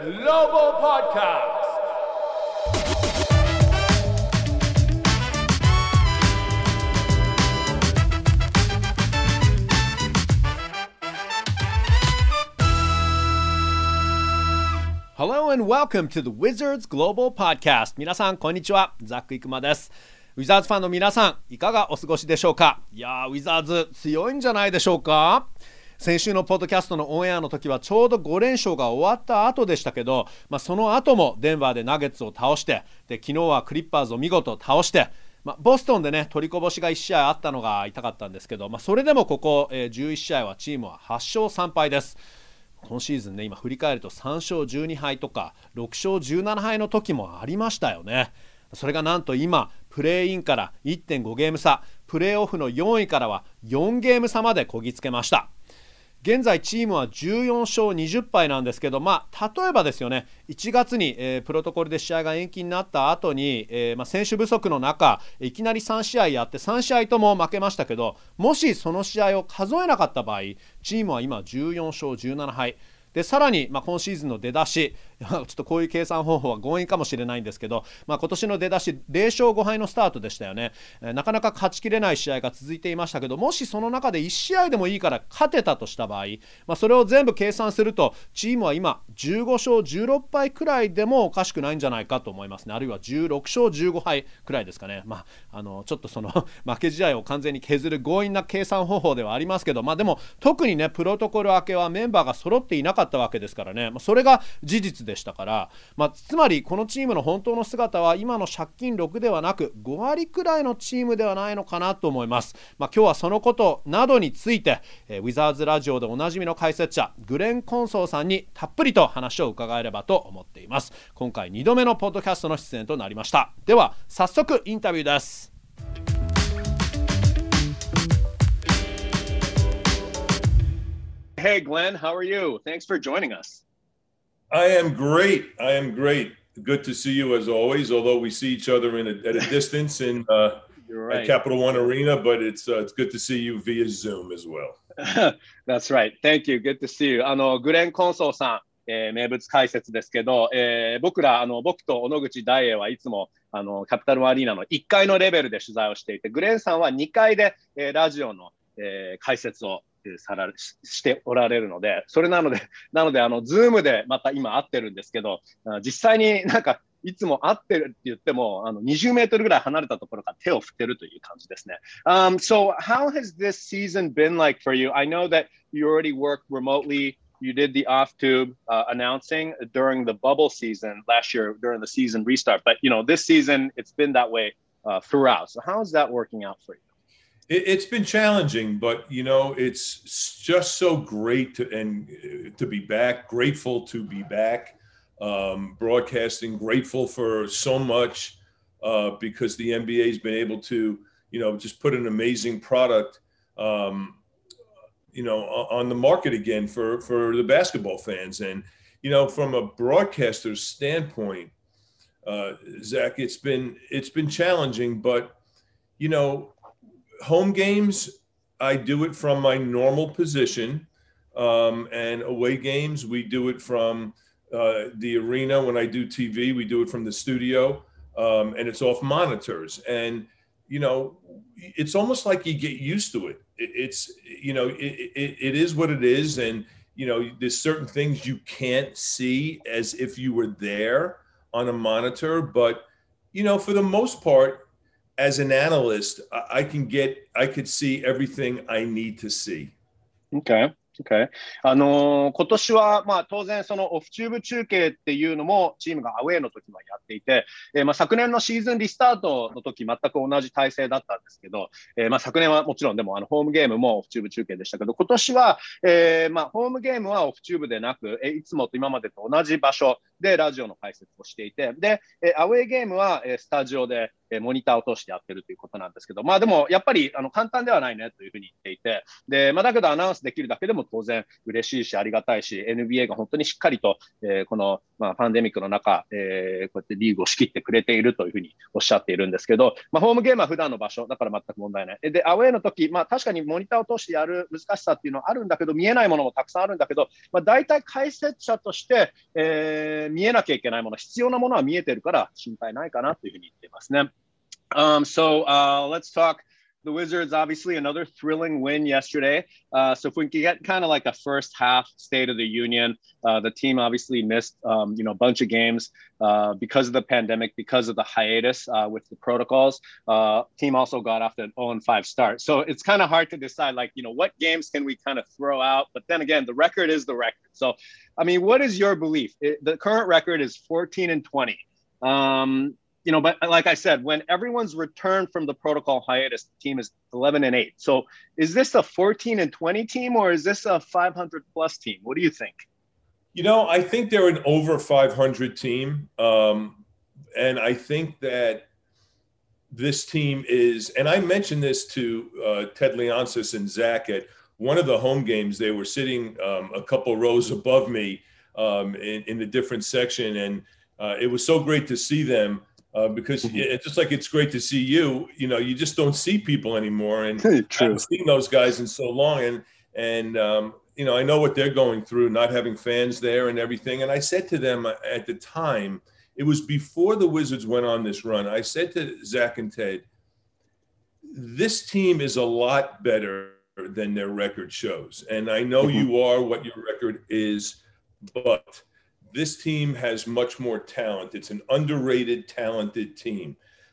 Global Podcast. Hello and welcome to the Wizards Global Podcast. 皆さんこんにちは、ザック・イクマです。ウィザーズファンの皆さん、いかがお過ごしでしょうか。いやー、ウィザーズ強いんじゃないでしょうか。先週のポッドキャストのオンエアの時はちょうど5連勝が終わった後でしたけど、その後もデンバーでナゲッツを倒して、で昨日はクリッパーズを見事倒して、ボストンでね取りこぼしが1試合あったのが痛かったんですけど、それでもここ、11試合はチームは8勝3敗です。今シーズンね、今振り返ると3勝12敗とか6勝17敗の時もありましたよね。それがなんと今プレーインから 1.5 ゲーム差、プレーオフの4位からは4ゲーム差までこぎつけました。現在チームは14勝20敗なんですけど、例えばですよね、1月に、プロトコルで試合が延期になった後に、選手不足の中いきなり3試合やって3試合とも負けましたけど、もしその試合を数えなかった場合、チームは今14勝17敗で、さらに、今シーズンの出だしちょっとこういう計算方法は強引かもしれないんですけど、今年の出だし0勝5敗のスタートでしたよね。なかなか勝ちきれない試合が続いていましたけど、もしその中で1試合でもいいから勝てたとした場合、それを全部計算するとチームは今15勝16敗くらいでもおかしくないんじゃないかと思いますね。あるいは16勝15敗くらいですかね。ちょっとその負け試合を完全に削る強引な計算方法ではありますけど、でも特にねプロトコル明けはメンバーが揃っていなかったわけですからね、それが事実でしたから、つまりこのチームの本当の姿は今の借金6ではなく5割くらいのチームではないのかなと思います。今日はそのことなどについて、ウィザーズラジオでおなじみの解説者グレン・コンソーさんにたっぷりと話を伺えればと思っています。今回2度目のポッドキャストの出演となりました。では早速インタビューです。Hey Glenn, how are you? Thanks for joining us. I am great. Good to see you as always, although we see each other at a distance in right. at Capital One Arena, but it's good to see you via Zoom as well. That's right. Thank you. Good to see you. グレン・コンソーさん、名物解説ですけど、僕と小野口大栄はいつもキャピタルワンアリーナの1階のレベルで取材をしていて、グレンさんは2階で、ラジオの、解説をしておられるので、それなのでズームでまた今会ってるんですけど、実際にいつも会ってるって言っても20メートルぐらい離れたところから手を振ってるという感じですね。So how has this season been like for you? I know that you already work remotely. You did the off-tube announcing during the bubble season last year during the season restart, but this season it's been that way throughout. So how is that working out for you? It's been challenging, but it's just so great to be back. Grateful to be back, broadcasting. Grateful for so much because the NBA has been able to, just put an amazing product, on the market again for the basketball fans. And from a broadcaster's standpoint, Zach, it's been challenging, but home games, I do it from my normal position, and away games, we do it from the arena. When I do TV, we do it from the studio, and it's off monitors. And, it's almost like you get used to it. It is what it is. And, there's certain things you can't see as if you were there on a monitor. But, for the most part, as an analyst, I could see everything I need to see. Okay. 今年は当然そのオフチューブ中継っていうのもチームがアウェーの時もやっていて、昨年のシーズンリスタートの時全く同じ体制だったんですけど、昨年はもちろんでもホームゲームもオフチューブ中継でしたけど、今年は、ホームゲームはオフチューブでなく、いつもと今までと同じ場所でラジオの解説をしていて、でアウェーゲームはスタジオでモニターを通してやってるということなんですけど、でもやっぱり簡単ではないねというふうに言っていて、で、だけどアナウンスできるだけでも当然嬉しいしありがたいし、NBA が本当にしっかりと、このパンデミックの中、こうやってリーグを仕切ってくれているというふうにおっしゃっているんですけど、ホームゲームは普段の場所だから全く問題ない。で、アウェーの時、確かにモニターを通してやる難しさっていうのはあるんだけど、見えないものもたくさんあるんだけど、大体解説者として、見えなきゃいけないもの、必要なものは見えてるから心配ないかなというふうに言っていますね。Let's talk the Wizards, obviously another thrilling win yesterday. So if we can get kind of like a first half State of the Union, the team obviously missed, a bunch of games because of the pandemic, because of the hiatus with the protocols. Team also got off an 0-5 start. So it's kind of hard to decide, like, what games can we kind of throw out? But then again, the record is the record. So, I mean, what is your belief? The current record is 14-20. But like I said, when everyone's returned from the protocol hiatus, the team is 11-8. So is this a 14-20 team or is this a 500 plus team? What do you think? I think they're an over 500 team. And I think that this team is, and I mentioned this to Ted Leonsis and Zach at one of the home games. They were sitting a couple rows above me in a different section. And it was so great to see them. Because it's just like it's great to see you. You just don't see people anymore, and I haven't seen those guys in so long. And I know what they're going through, not having fans there and everything. And I said to them at the time, it was before the Wizards went on this run. I said to Zach and Ted, this team is a lot better than their record shows. And I know you are what your record is, but this team has much more talent. It's an underrated, talented team.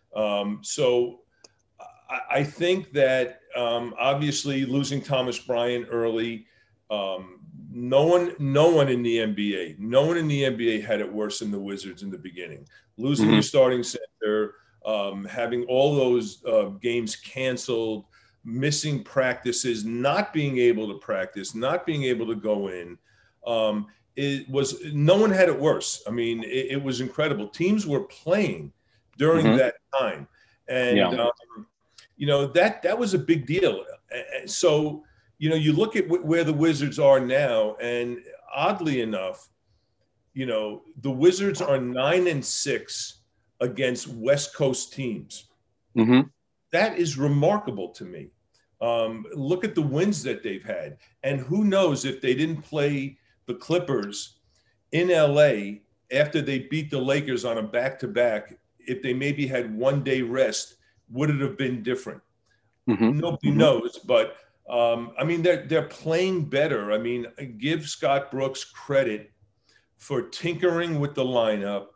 So I think that obviously losing Thomas Bryant early, no one in the NBA had it worse than the Wizards in the beginning. Losing your starting center, having all those games canceled, missing practices, not being able to practice, not being able to go in. No one had it worse. I mean, it was incredible. Teams were playing during that time. And, that was a big deal. So, you look at where the Wizards are now, and oddly enough, the Wizards are 9-6 against West Coast teams. That is remarkable to me. Look at the wins that they've had. And who knows if they didn't play the Clippers in LA after they beat the Lakers on a back-to-back, if they maybe had 1 day rest, would it have been different? Nobody knows, but I mean, they're playing better. I mean, give Scott Brooks credit for tinkering with the lineup,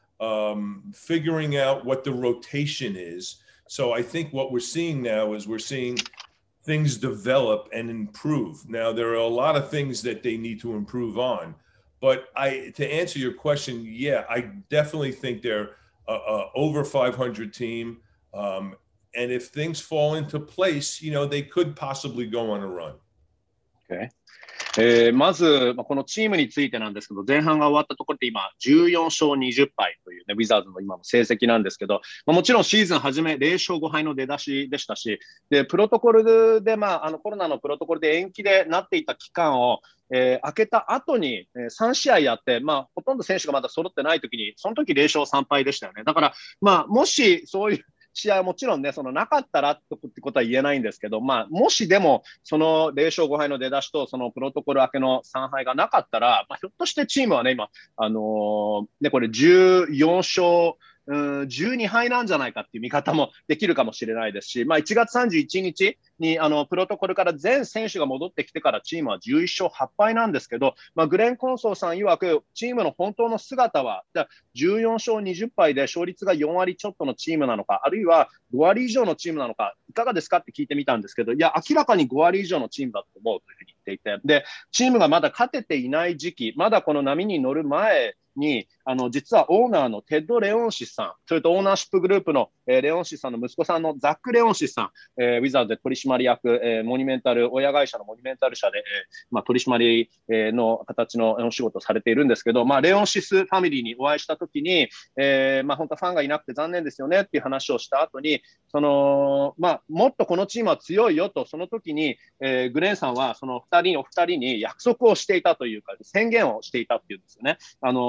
figuring out what the rotation is. So I think what we're seeing now is we're seeing things develop and improve. Now, there are a lot of things that they need to improve on. But to answer your question, yeah, I definitely think they're over 500 team. And if things fall into place, they could possibly go on a run. Okay. まず、このチームについてなんですけど、前半が終わったところで今、14勝20敗というね、ウィザーズの今の成績なんですけど、もちろんシーズン初め0勝5敗の出だしでしたし、で、プロトコルで、コロナのプロトコルで延期でなっていた期間を、明けた後に3試合やって、ほとんど選手がまだ揃ってない時に、その時0勝3敗でしたよね。だから、もしそういう試合はもちろんね、なかったらってことは言えないんですけど、もしでも、その0勝5敗の出だしと、そのプロトコル明けの3敗がなかったら、ひょっとしてチームはね、今、これ14勝、12敗なんじゃないかっていう見方もできるかもしれないですし、1月31日にプロトコルから全選手が戻ってきてからチームは11勝8敗なんですけど、グレン・コンソーさん曰くチームの本当の姿は14勝20敗で勝率が4割ちょっとのチームなのか、あるいは5割以上のチームなのか、いかがですかって聞いてみたんですけど、いや、明らかに5割以上のチームだと思うというふうに言っていて、で、チームがまだ勝てていない時期、まだこの波に乗る前に、実はオーナーのテッド・レオンシスさん、それとオーナーシップグループの、レオンシスさんの息子さんのザック・レオンシスさん、ウィザーズで取締役、モニュメンタル、親会社のモニュメンタル社で、取締りの形のお仕事をされているんですけど、レオンシスファミリーにお会いしたときに、本当はファンがいなくて残念ですよねっていう話をした後に、もっとこのチームは強いよと、その時に、グレンさんはそのお二人に約束をしていたというか、宣言をしていたっていうんですよね。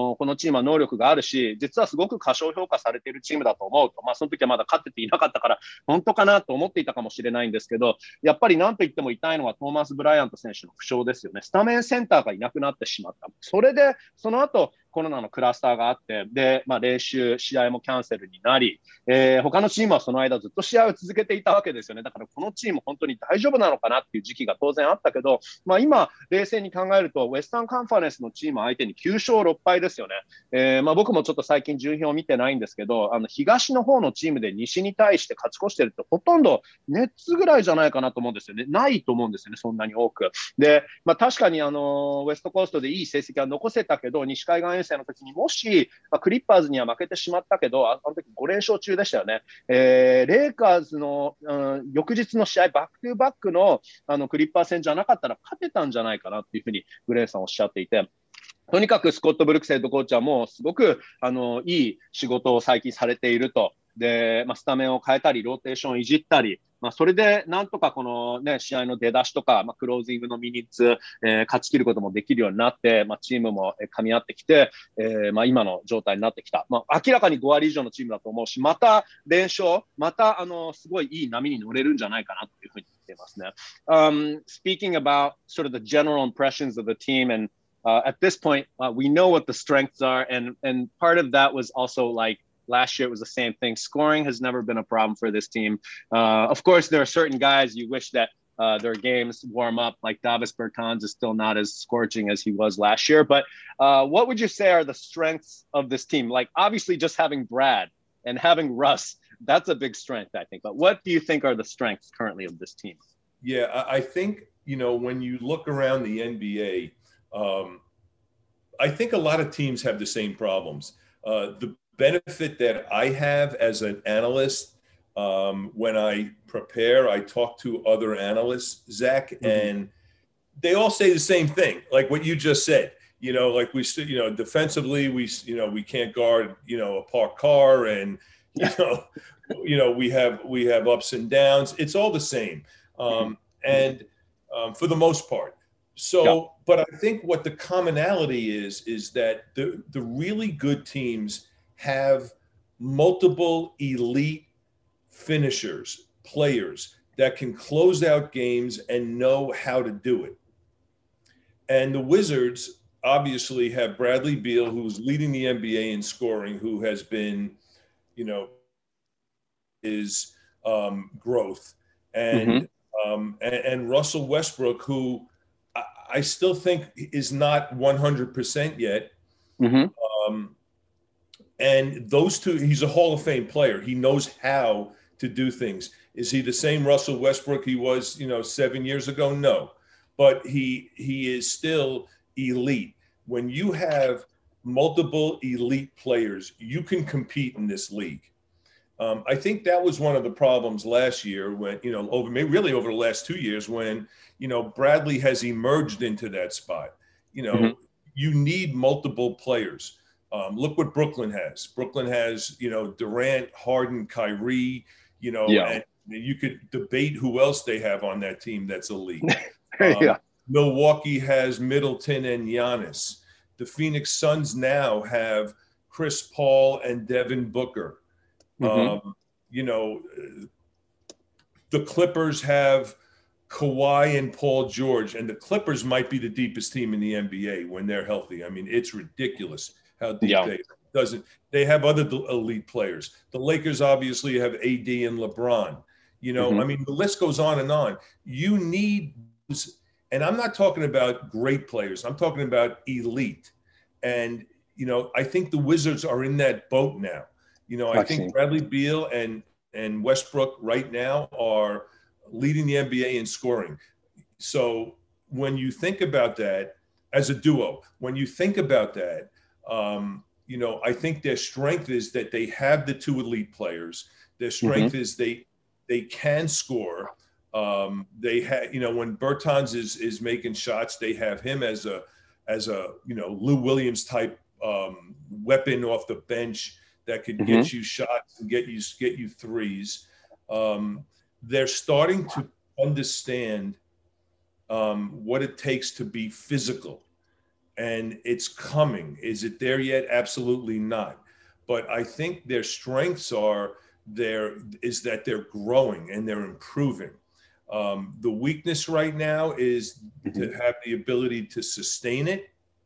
このチームは能力があるし、実はすごく過小評価されているチームだと思うと、その時はまだ勝ってていなかったから、本当かなと思っていたかもしれないんですけど、やっぱり何と言っても痛いのはトーマス・ブライアント選手の負傷ですよね。スタメンセンターがいなくなってしまった。それで、その後、コロナのクラスターがあって、で、練習、試合もキャンセルになり、他のチームはその間ずっと試合を続けていたわけですよね。だからこのチーム本当に大丈夫なのかなっていう時期が当然あったけど、今、冷静に考えると、ウェスタンカンファレンスのチーム相手に9勝6敗ですよね。僕もちょっと最近順位表を見てないんですけど、東の方のチームで西に対して勝ち越してるってほとんどネッツぐらいじゃないかなと思うんですよね。ないと思うんですよね、そんなに多く。で、確かにウェストコーストでいい成績は残せたけど、西海岸遠征の時にもし、クリッパーズには負けてしまったけど、あの時5連勝中でしたよね。レイカーズの、翌日の試合、バックトゥバックの、クリッパー戦じゃなかったら勝てたんじゃないかなっていうふうにグレイさんおっしゃっていて、とにかくスコット・ブルックスヘッドコーチはもうすごくいい仕事を最近されていると。で、スタメンを変えたり、ローテーションをいじったり、それでなんとかこの、ね、試合の出だしとか、クロージングのミニッツ、勝ち切ることもできるようになって、チームも噛み合ってきて、今の状態になってきた。明らかに5割以上のチームだと思うし、また連勝、またすごいいい波に乗れるんじゃないかなというふうに言っていますね。Speaking about sort of the general impressions of the team and at this point, we know what the strengths are, and part of that was also like last year it was the same thing. Scoring has never been a problem for this team. Of course, there are certain guys you wish that their games warm up, like Davis Bertans is still not as scorching as he was last year. But what would you say are the strengths of this team? Like obviously just having Brad and having Russ, that's a big strength, I think. But what do you think are the strengths currently of this team? Yeah, I think, when you look around the NBA, I think a lot of teams have the same problems. The benefit that I have as an analyst, when I prepare, I talk to other analysts, Zach, and they all say the same thing, like what you just said. Like defensively, we can't guard, a parked car, and we have ups and downs. It's all the same, and for the most part. So, but I think what the commonality is that the really good teams have multiple elite finishers, players that can close out games and know how to do it. And the Wizards obviously have Bradley Beal, who's leading the NBA in scoring, who has been, his growth, and Russell Westbrook, who I still think is not 100% yet. And those two, he's a Hall of Fame player. He knows how to do things. Is he the same Russell Westbrook he was, 7 years ago? No, but he is still elite. When you have multiple elite players, you can compete in this league. I think that was one of the problems last year when, over the last 2 years when, Bradley has emerged into that spot. You need multiple players. Look what Brooklyn has. Brooklyn has, Durant, Harden, Kyrie, and you could debate who else they have on that team that's elite. Milwaukee has Middleton and Giannis. The Phoenix Suns now have Chris Paul and Devin Booker. The Clippers have Kawhi and Paul George, and the Clippers might be the deepest team in the NBA when they're healthy. I mean, it's ridiculous how deep they have other elite players. The Lakers obviously have AD and LeBron. I mean, the list goes on and on. You need, and I'm not talking about great players. I'm talking about elite. And, I think the Wizards are in that boat now. I think Bradley Beal and Westbrook right now are leading the NBA in scoring. So when you think about that as a duo, I think their strength is that they have the two elite players. Their strength is they can score. They have, when Bertans is making shots, they have him as a Lou Williams type weapon off the bench that could get you shots and get you threes. They're starting to understand what it takes to be physical. and it's coming. Is it there yet? Absolutely not. But I think their strengths are there is that they're growing and they're improving. The weakness right now is to have the ability to sustain it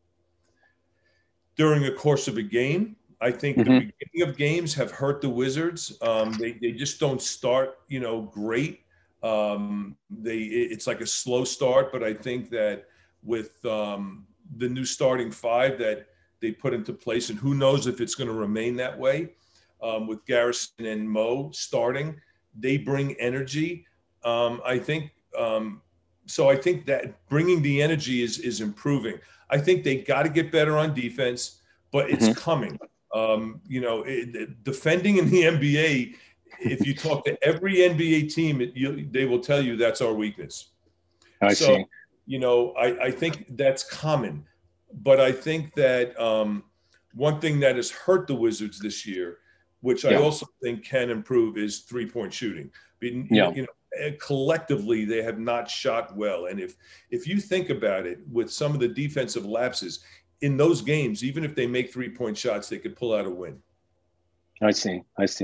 during the course of a game. I think the beginning of games have hurt the Wizards. They just don't start, great. It's like a slow start, but I think that with the new starting five that they put into place, and who knows if it's going to remain that way, with Garrison and Mo starting, they bring energy. I think so. I think that bringing the energy is improving. I think they got to get better on defense, but it's coming. Defending in the NBA, if you talk to every NBA team, they will tell you that's our weakness. I see. I think that's common, but I think that one thing that has hurt the Wizards this year, which I also think can improve, is three-point shooting. Collectively, they have not shot well. And if you think about it, with some of the defensive lapses in those games, even if they make three-point shots, they could pull out a win. I see.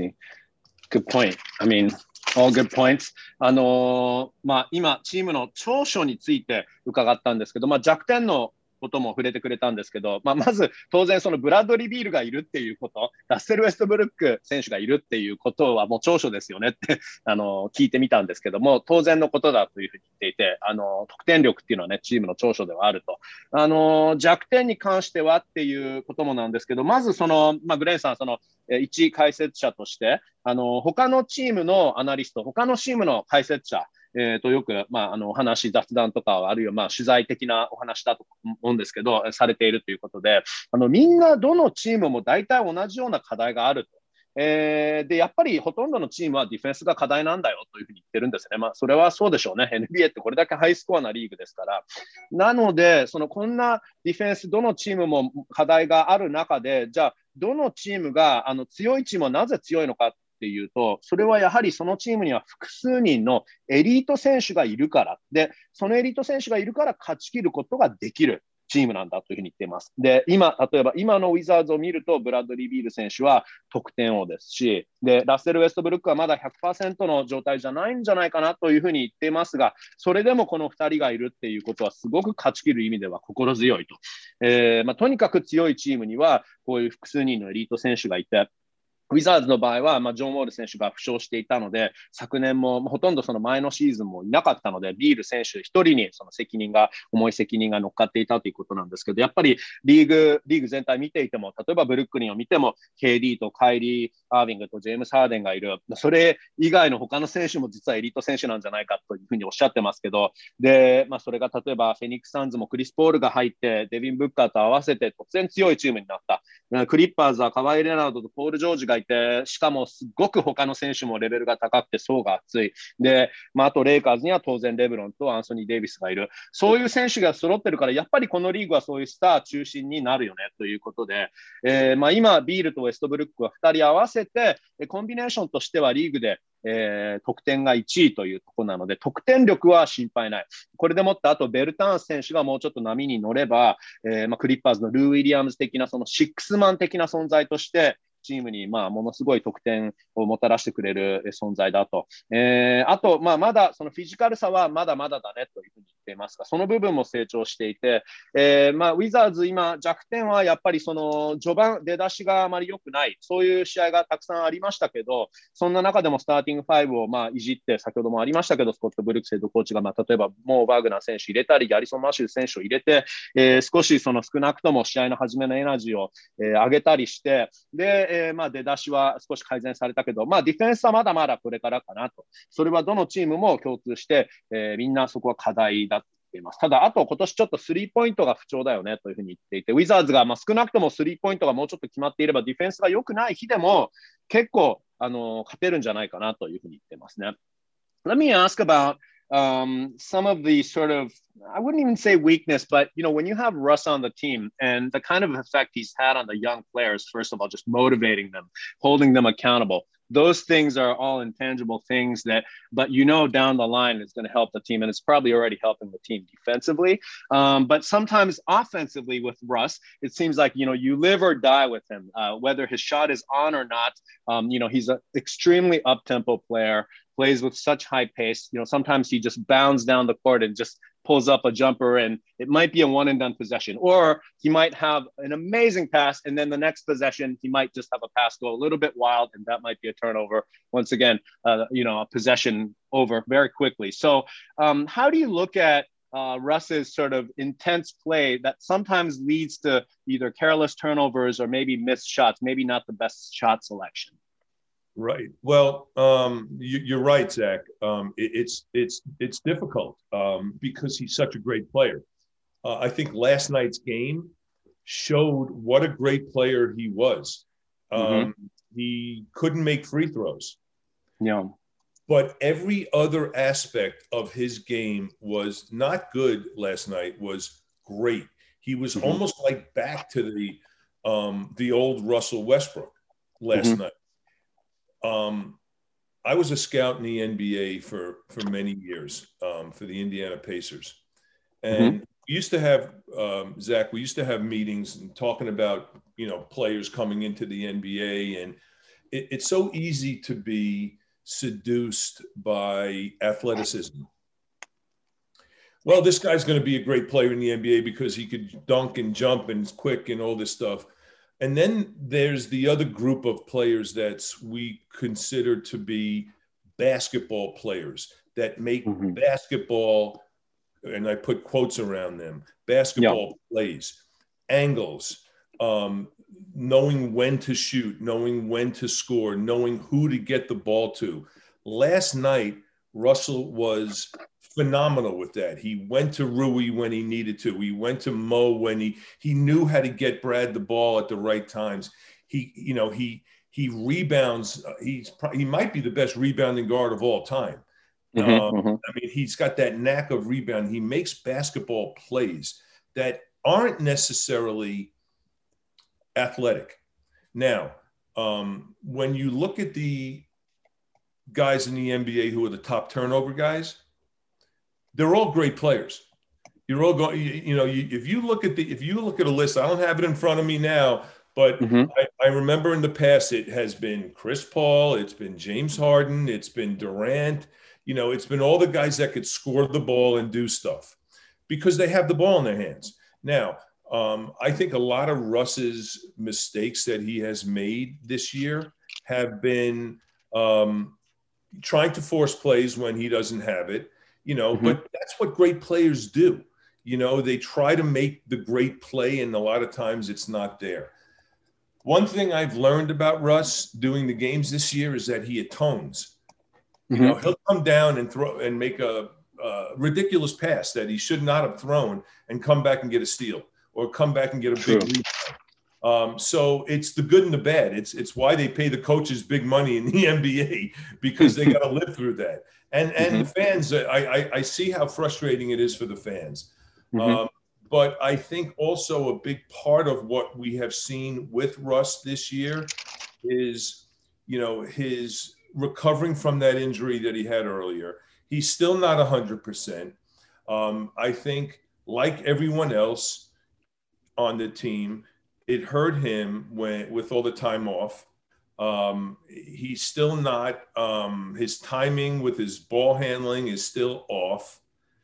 Good point. I mean, all good points. 今、チームの長所について伺ったんですけど、弱点のことも触れてくれたんですけど、まず当然そのブラッドリー・ビールがいるっていうこと、ラッセル・ウェストブルック選手がいるっていうことはもう長所ですよねって聞いてみたんですけども、当然のことだというふうに言っていて、得点力っていうのはね、チームの長所ではあると。弱点に関してはっていうこともなんですけど、まずグレンさん、一解説者として、他のチームのアナリスト、他のチームの解説者、よく、お話、雑談とか、あるいは、取材的なお話だと思うんですけど、されているということで、みんな、どのチームも大体同じような課題があると。で、やっぱりほとんどのチームはディフェンスが課題なんだよというふうに言ってるんですね。それはそうでしょうね。NBA ってこれだけハイスコアなリーグですから。なので、こんなディフェンス、どのチームも課題がある中で、じゃあ、どのチームが、強いチームはなぜ強いのかっていうと、それはやはりそのチームには複数人のエリート選手がいるからで、そのエリート選手がいるから勝ち切ることができるチームなんだというふうに言っています。で、例えば今のウィザーズを見ると、ブラッドリー・ビール選手は得点王ですし、で、ラッセル・ウェストブルックはまだ 100% の状態じゃないんじゃないかなというふうに言っていますが、それでもこの2人がいるっていうことはすごく勝ち切る意味では心強いと。とにかく強いチームにはこういう複数人のエリート選手がいて、ウィザーズの場合は、ジョン・ウォール選手が負傷していたので、昨年もほとんどその前のシーズンもいなかったので、ビール選手一人にその重い責任が乗っかっていたということなんですけど、やっぱりリーグ全体見ていても、例えばブルックリンを見ても、KD とカイリー・アービングとジェームス・ハーデンがいる。それ以外の他の選手も実はエリート選手なんじゃないかというふうにおっしゃってますけど、で、それが例えばフェニックス・サンズもクリス・ポールが入って、デビン・ブッカーと合わせて突然強いチームになった。クリッパーズはカワイ・レナードとポール・ジョージがいて、しかもすごく他の選手もレベルが高くて層が厚い。で、あとレイカーズには当然レブロンとアンソニー・デイビスがいる。そういう選手が揃ってるから、やっぱりこのリーグはそういうスター中心になるよねということで、今、ビールとウェストブルックは2人合わせて、コンビネーションとしてはリーグで得点が1位というところなので、得点力は心配ない。これでもって、あとベルターンス選手がもうちょっと波に乗れば、クリッパーズのルー・ウィリアムズ的なそのシックスマン的な存在として、チームにものすごい得点をもたらしてくれる存在だと。あと、まだそのフィジカルさはまだまだだねというふうに言っていますが、その部分も成長していて、ウィザーズ今弱点はやっぱりその序盤出だしがあまり良くない、そういう試合がたくさんありましたけど、そんな中でもスターティング5をいじって、先ほどもありましたけど、スコット・ブルックスヘッドコーチが例えばモー・バーグナー選手入れたり、ギャリソン・マッシュ選手を入れて、少し少なくとも試合の初めのエナジーを上げたりして、で、出だしは少し改善されたけど、ディフェンスはまだまだこれからかなと。それはどのチームも共通して、みんなそこは課題だと言っています。ただ、あと今年ちょっとスリーポイントが不調だよねというふうに言っていて、ウィザーズが少なくともスリーポイントがもうちょっと決まっていれば、ディフェンスが良くない日でも結構勝てるんじゃないかなというふうに言っていますね。Let me ask about some of the sort of, I wouldn't even say weakness, but when you have Russ on the team and the kind of effect he's had on the young players, first of all, just motivating them, holding them accountable. those things are all intangible things that, but down the line it's going to help the team, and it's probably already helping the team defensively. But sometimes offensively with Russ, it seems like, you live or die with him, whether his shot is on or not. He's an extremely up-tempo player, plays with such high pace. Sometimes he just bounds down the court and just pulls up a jumper, and it might be a one and done possession, or he might have an amazing pass, and then the next possession he might just have a pass go a little bit wild, and that might be a turnover. Once again, a possession over very quickly. So how do you look at Russ's sort of intense play that sometimes leads to either careless turnovers or maybe missed shots, maybe not the best shot selection? Right. Well, you're right, Zach. It's difficult because he's such a great player. I think last night's game showed what a great player he was. He couldn't make free throws. Yeah. But every other aspect of his game was not good last night, was great. He was almost like back to the old Russell Westbrook last night. I was a scout in the NBA for many years for the Indiana Pacers. And we used to have, Zach, we used to have meetings and talking about, players coming into the NBA. And it's so easy to be seduced by athleticism. Well, this guy's going to be a great player in the NBA because he could dunk and jump and is quick and all this stuff. And then there's the other group of players that we consider to be basketball players that make basketball, and I put quotes around them, basketball plays, angles, knowing when to shoot, knowing when to score, knowing who to get the ball to. Last night, Russell was phenomenal with that. He went to Rui when he needed to. He went to Mo when he knew how to get Brad the ball at the right times. He rebounds. He might be the best rebounding guard of all time. I mean, he's got that knack of rebound. He makes basketball plays that aren't necessarily athletic. Now, when you look at the guys in the NBA who are the top turnover guys, they're all great players. You're all going, if you look at a list, I don't have it in front of me now, but I remember in the past, it has been Chris Paul, it's been James Harden, it's been Durant, it's been all the guys that could score the ball and do stuff because they have the ball in their hands. Now, I think a lot of Russ's mistakes that he has made this year have been trying to force plays when he doesn't have it. But that's what great players do. They try to make the great play, and a lot of times it's not there. One thing I've learned about Russ doing the games this year is that he atones. He'll come down and throw and make a ridiculous pass that he should not have thrown and come back and get a steal or come back and get a big rebound. So it's the good and the bad. It's why they pay the coaches big money in the NBA because they got to live through that. And the fans, I see how frustrating it is for the fans. But I think also a big part of what we have seen with Russ this year is, his recovering from that injury that he had earlier. He's still not 100%. I think, like everyone else on the team, it hurt him with all the time off. He's still not, his timing with his ball handling is still off.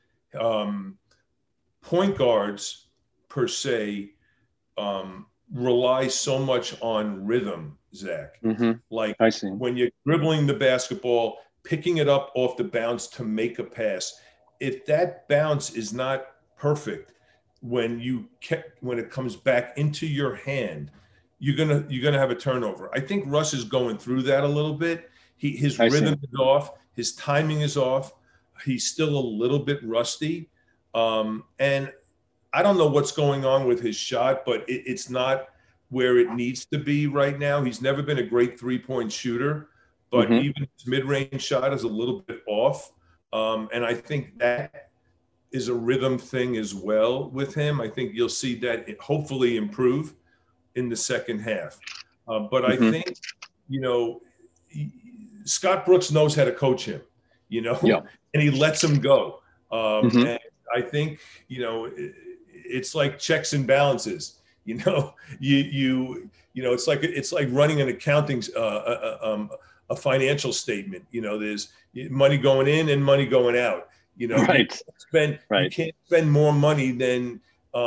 Point guards per se rely so much on rhythm, Zach. Like when you're dribbling the basketball, picking it up off the bounce to make a pass. If that bounce is not perfect, when it comes back into your hand, you're gonna have a turnover. I think Russ is going through that a little bit. His rhythm is off, his timing is off. He's still a little bit rusty, and I don't know what's going on with his shot, but it's not where it needs to be right now. He's never been a great three-point shooter, but even his mid-range shot is a little bit off, and I think that is a rhythm thing as well with him. I think you'll see that hopefully improve in the second half. But I think, Scott Brooks knows how to coach him, you know, Yeah. and he lets him go. Mhm. And I think, you know, it's like checks and balances. You know, you know, it's like running an accounting, a financial statement. You know, there's money going in and money going out. You know, Right. you can't spend more money than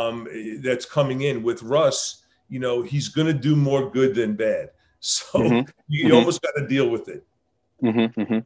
that's coming in. With Russ, you know, he's going to do more good than bad. So Mhm. you almost got to deal with it. Mhm. Mhm.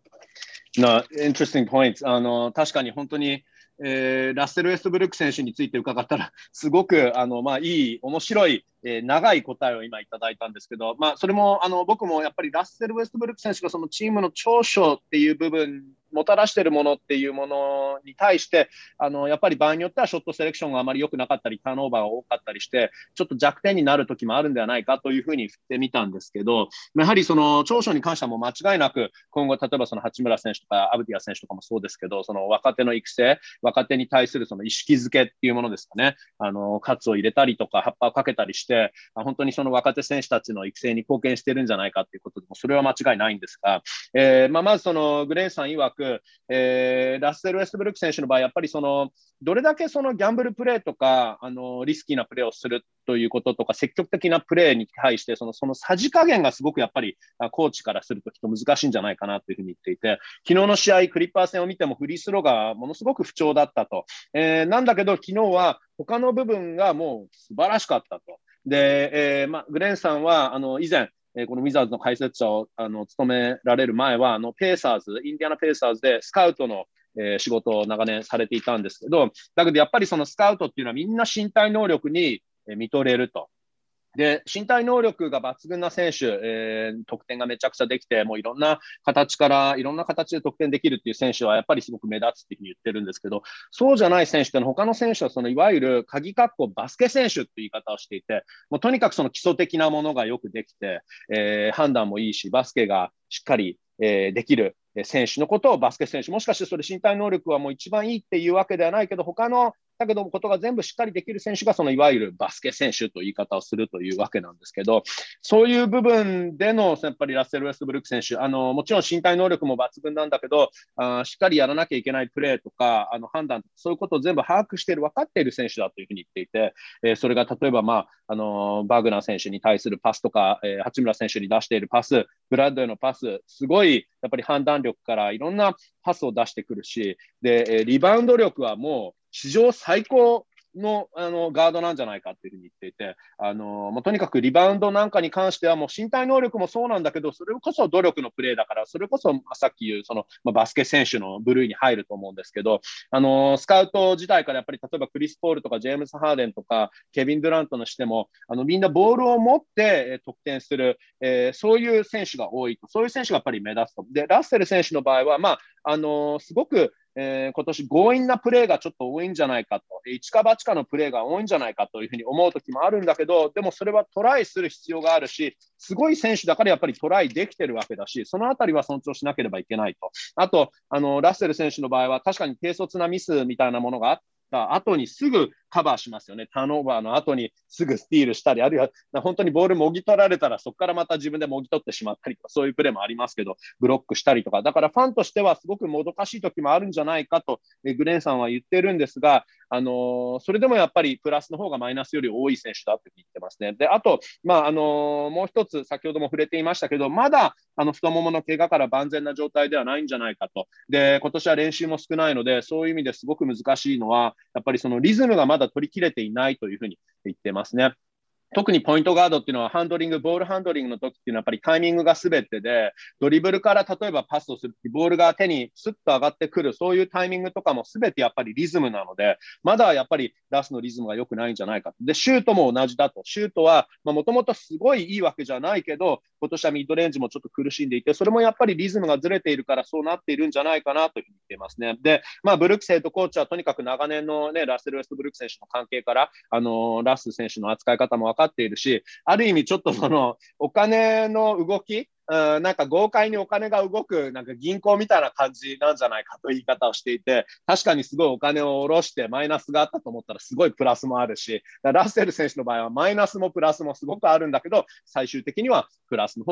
Interesting points. 確かに本当に、ラッセル・ウェストブルック選手について伺ったら、すごくいい、面白い、長い答えを今いただいたんですけど、それも僕もやっぱりラッセル・ウェストブルック選手がそのチームの長所っていう部分、もたらしているものっていうものに対して、やっぱり場合によってはショットセレクションがあまり良くなかったり、ターンオーバーが多かったりして、ちょっと弱点になる時もあるんではないかというふうに振ってみたんですけど、やはりその長所に関してはもう間違いなく、今後、例えばその八村選手とかアブディア選手とかもそうですけど、その若手の育成、若手に対するその意識づけっていうものですかね、喝を入れたりとか、葉っぱをかけたりして、本当にその若手選手たちの育成に貢献してるんじゃないかということでも、それは間違いないんですが、まずそのグレンさん曰く、ラッセル・ウェストブルック選手の場合、やっぱりそのどれだけそのギャンブルプレーとかリスキーなプレーをするということとか、積極的なプレーに対してそのさじ加減がすごくやっぱりコーチからするときっと難しいんじゃないかなというふうに言っていて、昨日の試合、クリッパー戦を見てもフリースローがものすごく不調だったと。なんだけど、昨日は他の部分がもう素晴らしかったと。で、グレンさんは以前、このウィザーズの解説者を務められる前はペーサーズ、インディアナペーサーズでスカウトの仕事を長年されていたんですけど、だけどやっぱりそのスカウトっていうのはみんな身体能力に見とれると。で、身体能力が抜群な選手、得点がめちゃくちゃできて、もういろんな形で得点できるっていう選手はやっぱりすごく目立つっていうふうに言ってるんですけど、そうじゃない選手ってのは他の選手はそのいわゆる鍵括弧バスケ選手っていう言い方をしていて、もうとにかくその基礎的なものがよくできて、判断もいいし、バスケがしっかり、できる選手のことをバスケ選手、もしかしてそれ身体能力はもう一番いいっていうわけではないけど、他のだけどことが全部しっかりできる選手がそのいわゆるバスケ選手という言い方をするというわけなんですけど、そういう部分でのやっぱりラッセル・ウェストブルック選手、もちろん身体能力も抜群なんだけど、しっかりやらなきゃいけないプレーとか判断とか、そういうことを全部把握している、分かっている選手だというふうに言っていて、それが例えば、バグナー選手に対するパスとか、八村選手に出しているパス、ブラッドへのパス、すごいやっぱり判断力からいろんなパスを出してくるし、で、リバウンド力はもう史上最高のガードなんじゃないかっていうふうに言っていて、とにかくリバウンドなんかに関してはもう身体能力もそうなんだけど、それこそ努力のプレーだから、それこそさっき言うその、バスケ選手の部類に入ると思うんですけど、スカウト時代からやっぱり例えばクリス・ポールとかジェームス・ハーデンとかケビン・ドゥラントのしてもみんなボールを持って得点する、そういう選手が多いと、そういう選手がやっぱり目立つと。で、ラッセル選手の場合は、すごく今年強引なプレーがちょっと多いんじゃないかと、一か八かのプレーが多いんじゃないかというふうに思う時もあるんだけど、でもそれはトライする必要があるし、すごい選手だからやっぱりトライできてるわけだし、そのあたりは尊重しなければいけないと。あとラッセル選手の場合は確かに軽率なミスみたいなものがあった後にすぐカバーしますよね。ターンオーバーの後にすぐスティールしたり、あるいは本当にボールもぎ取られたらそこからまた自分でもぎ取ってしまったりとか、そういうプレーもありますけど、ブロックしたりとか、だからファンとしてはすごくもどかしい時もあるんじゃないかとグレンさんは言ってるんですが、それでもやっぱりプラスの方がマイナスより多い選手だと言ってますね。で、あと、もう一つ先ほども触れていましたけど、まだ太ももの怪我から万全な状態ではないんじゃないかと。で、今年は練習も少ないので、そういう意味ですごく難しいのは、やっぱりそのリズムがまだ取り切れていないというふうに言ってますね。特にポイントガードっていうのはボールハンドリングの時っていうのはやっぱりタイミングが全てで、ドリブルから例えばパスをする、ボールが手にスッと上がってくる、そういうタイミングとかも全てやっぱりリズムなので、まだやっぱりラスのリズムが良くないんじゃないか。で、シュートも同じだと。シュートはもともとすごいいいわけじゃないけど、今年はミッドレンジもちょっと苦しんでいて、それもやっぱりリズムがずれているからそうなっているんじゃないかなというふうに言っていますね。で、ブルックスヘッドコーチはとにかく長年のね、ラッセル・ウェストブルック選手の関係から、ラス選手の扱い方も分かっているし、ある意味ちょっとそのお金の動き、なんか豪快にお金が動くなんか銀行みたいな感じなんじゃないかという言い方をしていて、確かにすごいお金を下ろしてマイナスがあったと思ったらすごいプラスもあるし、ラッセル選手の場合はマイナスもプラスもすごくあるんだけど、最終的にはプラスの方が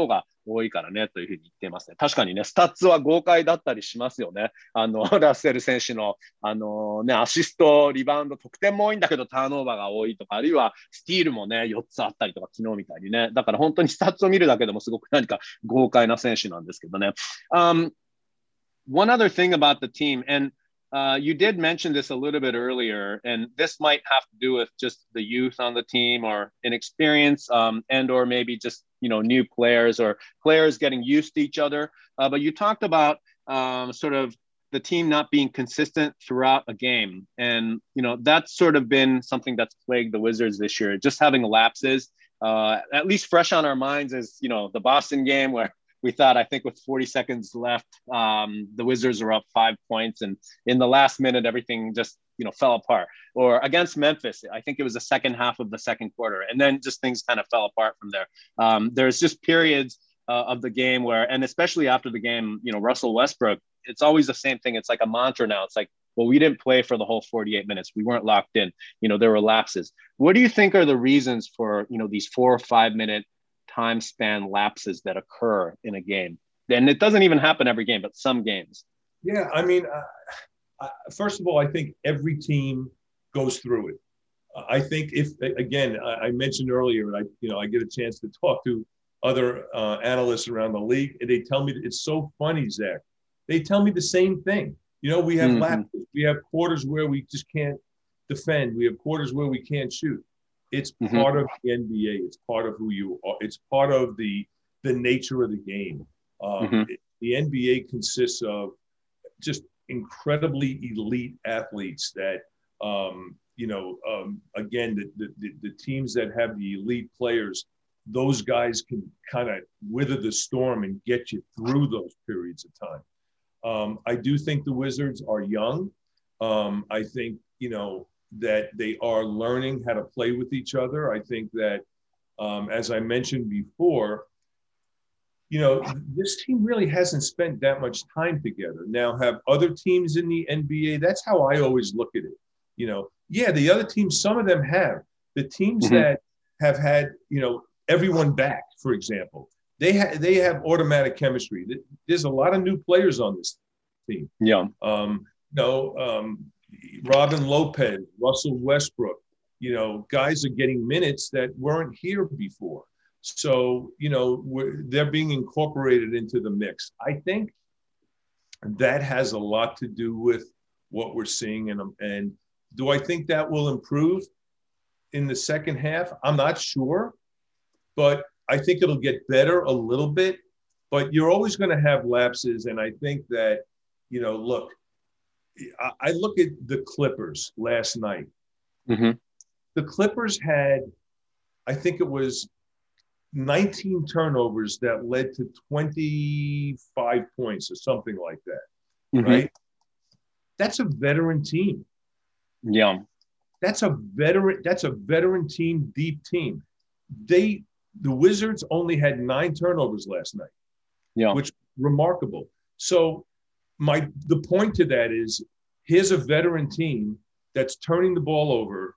多いからねというふうに言っていますね。確かにね、スタッツは豪快だったりしますよね。ラッセル選手の、アシスト、リバウンド、得点も多いんだけど、ターンオーバーが多いとか、あるいはスティールもね、4つあったりとか、昨日みたいにね。だから本当にスタッツを見るだけでもすごく何か豪快な選手なんですけどね。One other thing about the team, and you did mention this a little bit earlier, and this might have to do with just the youth on the team or inexperience, and or maybe just new players or players getting used to each other. But you talked about sort of the team not being consistent throughout a game, and that's sort of been something that's plagued the Wizards this year. Just having lapses, at least fresh on our minds, is the Boston game where we thought, I think with 40 seconds left, the Wizards were up 5 points. And in the last minute, everything just, fell apart. Or against Memphis, I think it was the second half of the second quarter. And then just things kind of fell apart from there. There's just periods of the game where, and especially after the game, Russell Westbrook, it's always the same thing. It's like a mantra now. It's like, well, we didn't play for the whole 48 minutes. We weren't locked in. There were lapses. What do you think are the reasons for, these 4 or 5 minute time span lapses that occur in a game? And it doesn't even happen every game, but some games. Yeah, I mean, first of all, I think every team goes through it. I think if, again, I mentioned earlier, I get a chance to talk to other analysts around the league, and they tell me that it's so funny, Zach. They tell me the same thing. We have lapses. We have quarters where we just can't defend. We have quarters where we can't shoot. It's part of the NBA. It's part of who you are. It's part of the nature of the game. The NBA consists of just incredibly elite athletes that, again, the teams that have the elite players, those guys can kind of weather the storm and get you through those periods of time. I do think the Wizards are young. I think, that they are learning how to play with each other. I think that, as I mentioned before, this team really hasn't spent that much time together. Now, have other teams in the NBA, that's how I always look at it. The other teams, some of them have. The teams that have had, everyone back, for example, they have automatic chemistry. There's a lot of new players on this team. Yeah. Robin Lopez, Russell Westbrook, guys are getting minutes that weren't here before. So, they're being incorporated into the mix. I think that has a lot to do with what we're seeing. And do I think that will improve in the second half? I'm not sure, but I think it'll get better a little bit. But you're always going to have lapses. And I think that, look, I look at the Clippers last night. The Clippers had, I think it was 19 turnovers that led to 25 points or something like that, right? That's a veteran team. Yeah. That's a veteran team, deep team. The Wizards only had 9 turnovers last night, which is remarkable. So the point to that is, here's a veteran team that's turning the ball over,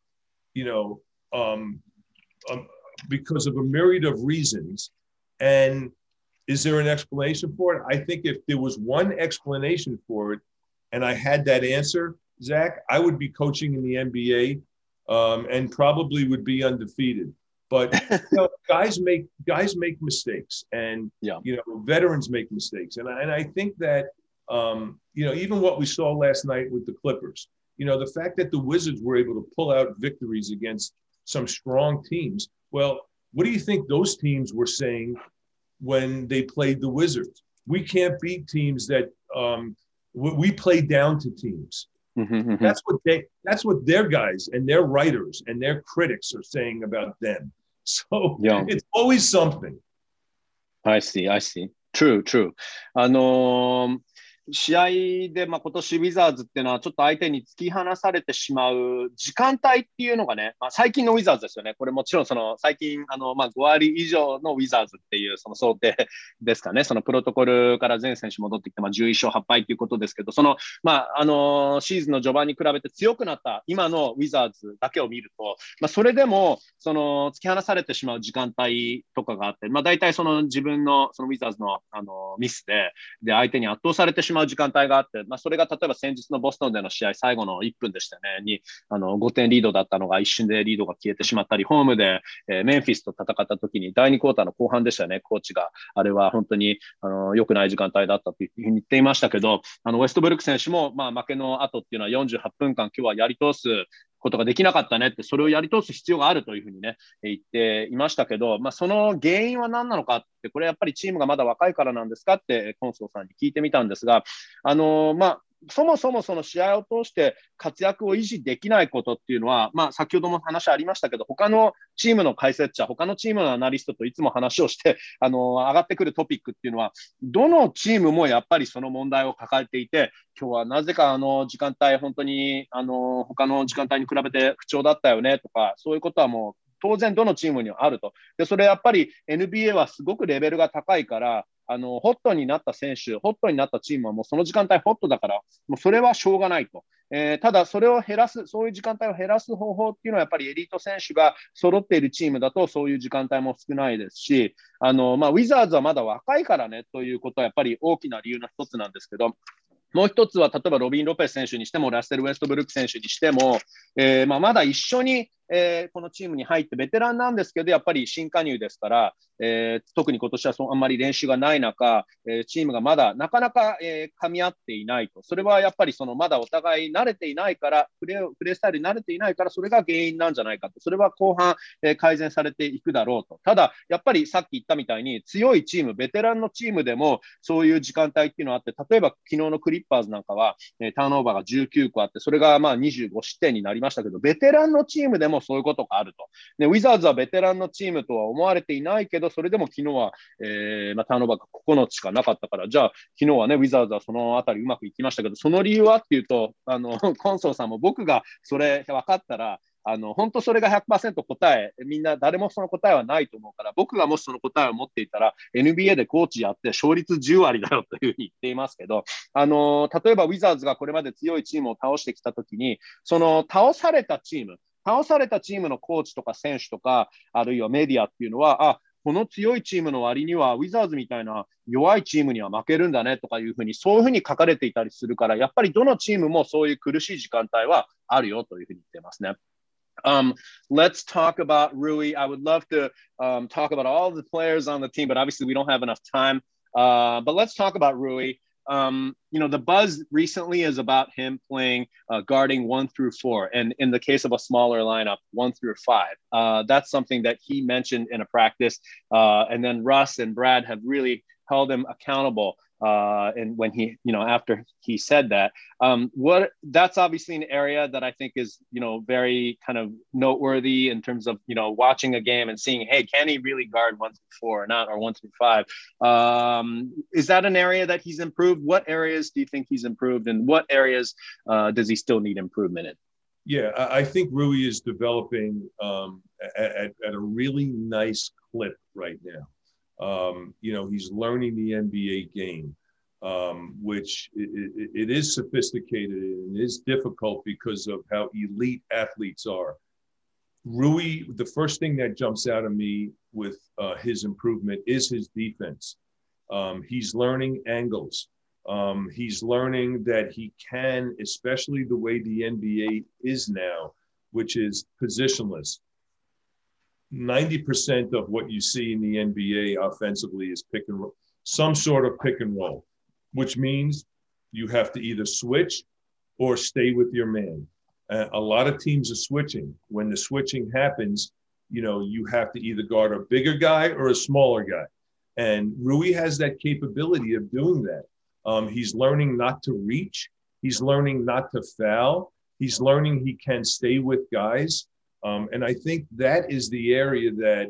because of a myriad of reasons. And is there an explanation for it? I think if there was one explanation for it, and I had that answer, Zach, I would be coaching in the NBA, and probably would be undefeated. But guys make mistakes, and veterans make mistakes, and I think that even what we saw last night with the Clippers, the fact that the Wizards were able to pull out victories against some strong teams. Well, what do you think those teams were saying when they played the Wizards? We can't beat teams that we play down to teams. That's what their guys and their writers and their critics are saying about them. So it's always something. I see. True. 試合で、今年ウィザーズっていうのはちょっと相手に突き放されてしまう時間帯っていうのがね、最近のウィザーズですよね。これもちろん最近5割以上のウィザーズっていうその想定ですかね。そのプロトコルから全選手戻ってきて、11勝8敗ということですけど、シーズンの序盤に比べて強くなった今のウィザーズだけを見ると、それでも突き放されてしまう時間帯とかがあって、大体自分のウィザーズのミスで相手に圧倒されてしまう時間帯があって、それが例えば先日のボストンでの試合最後の1分でしたねに5点リードだったのが一瞬でリードが消えてしまったり、ホームで、メンフィスと戦った時に第2クォーターの後半でしたね、コーチがあれは本当に良くない時間帯だったというふうに言っていましたけど、ウェストブルック選手も負けの後っていうのは48分間今日はやり通すことができなかったねって、それをやり通す必要があるというふうにね言っていましたけど、その原因は何なのかって、これやっぱりチームがまだ若いからなんですかってコンソーさんに聞いてみたんですが、そもそもその試合を通して活躍を維持できないことっていうのは、先ほども話ありましたけど、他のチームの解説者、他のチームのアナリストといつも話をして上がってくるトピックっていうのは、どのチームもやっぱりその問題を抱えていて、今日はなぜか時間帯本当に他の時間帯に比べて不調だったよねとか、そういうことはもう当然どのチームにはあると。でそれやっぱり NBA はすごくレベルが高いから、ホットになった選手、ホットになったチームはもうその時間帯ホットだから、もうそれはしょうがないと。ただそれを減らす、そういう時間帯を減らす方法っていうのはやっぱりエリート選手が揃っているチームだとそういう時間帯も少ないですし、ウィザーズはまだ若いからねということはやっぱり大きな理由の一つなんですけど、もう一つは例えばロビン・ロペス選手にしてもラッセル・ウェストブルック選手にしても、まだ一緒に、このチームに入ってベテランなんですけど、やっぱり新加入ですから、特に今年はあんまり練習がない中、チームがまだなかなか、噛み合っていないと。それはやっぱりまだお互い慣れていないから、プレースタイルに慣れていないから、それが原因なんじゃないかと。それは後半、改善されていくだろうと。ただやっぱりさっき言ったみたいに強いチーム、ベテランのチームでもそういう時間帯っていうのがあって、例えば昨日のクリッパーズなんかは、ターンオーバーが19個あって、それが25失点になりましたけど、ベテランのチームでもそういうことがあると。でウィザーズはベテランのチームとは思われていないけど、それでも昨日は、ターンオーバーが9つしかなかったから、じゃあ昨日はねウィザーズはそのあたりうまくいきましたけど、その理由はっていうと、コンソーさんも僕がそれ分かったら本当それが 100% 答え、みんな誰もその答えはないと思うから、僕がもしその答えを持っていたら NBA でコーチやって勝率10割だよというふうに言っていますけど、例えばウィザーズがこれまで強いチームを倒してきたときに、その倒されたチームのコーチとか選手とか、あるいはメディアっていうのは、この強いチームの割にはウィザーズみたいな弱いチームには負けるんだねとかいうふうに、そういうふうに書かれていたりするから、やっぱりどのチームもそういう苦しい時間帯はあるよというふうに言ってますね。Let's talk about Rui. I would love to talk about all the players on the team, but obviously we don't have enough time. But let's talk about Rui. The buzz recently is about him playing guarding 1 through 4, and in the case of a smaller lineup, 1 through 5. That's something that he mentioned in a practice, and then Russ and Brad have really held him accountable. And when he, after he said that, that's obviously an area that I think is, very kind of noteworthy in terms of, watching a game and seeing, hey, can he really guard 1 through 4 or not, or 1 through 5? Is that an area that he's improved? What areas do you think he's improved, and what areas does he still need improvement in? Yeah, I think Rui is developing at a really nice clip right now. He's learning the NBA game, which it is sophisticated and is difficult because of how elite athletes are. Rui, the first thing that jumps out at me with his improvement is his defense. He's learning angles. He's learning that he can, especially the way the NBA is now, which is positionless. 90% of what you see in the NBA offensively is pick and roll, some sort of pick and roll, which means you have to either switch or stay with your man. A lot of teams are switching. When the switching happens, you have to either guard a bigger guy or a smaller guy. And Rui has that capability of doing that. He's learning not to reach. He's learning not to foul. He's learning he can stay with guys. And I think that is the area that,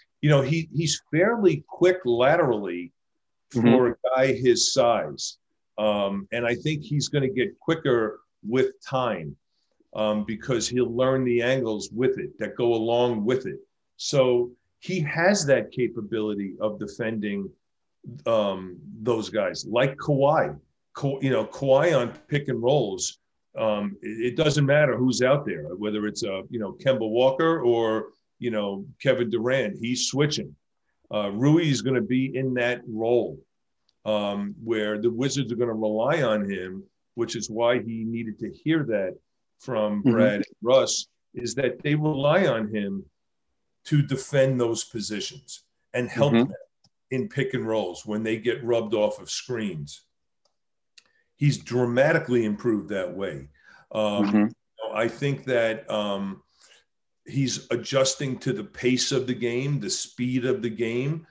he's fairly quick laterally for a guy his size. And I think he's going to get quicker with time because he'll learn the angles with it that go along with it. So he has that capability of defending those guys like Kawhi. Kawhi on pick and rolls. It doesn't matter who's out there, whether it's Kemba Walker or Kevin Durant. He's switching. Rui is going to be in that role where the Wizards are going to rely on him, which is why he needed to hear that from Brad and Russ, is that they rely on him to defend those positions and help them in pick and rolls when they get rubbed off of screens. He's dramatically improved that way. I think that he's adjusting to the pace of the game, the speed of the game.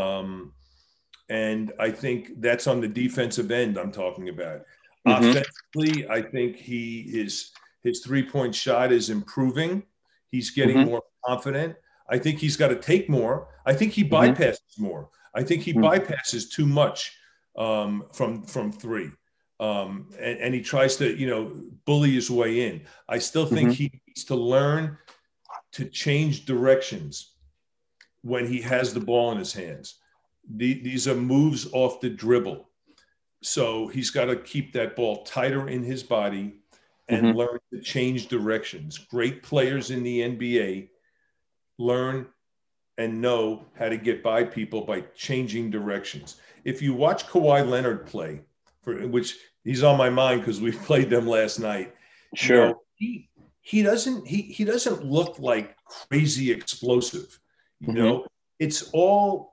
And I think that's on the defensive end I'm talking about. Offensively, I think his three-point shot is improving. He's getting more confident. I think he's got to take more. I think he bypasses more. I think he bypasses too much from three. And he tries to, bully his way in. I still think he needs to learn to change directions when he has the ball in his hands. These are moves off the dribble. So he's got to keep that ball tighter in his body and learn to change directions. Great players in the NBA learn and know how to get by people by changing directions. If you watch Kawhi Leonard play, which he's on my mind because we played them last night. Sure. He doesn't look like crazy explosive. It's all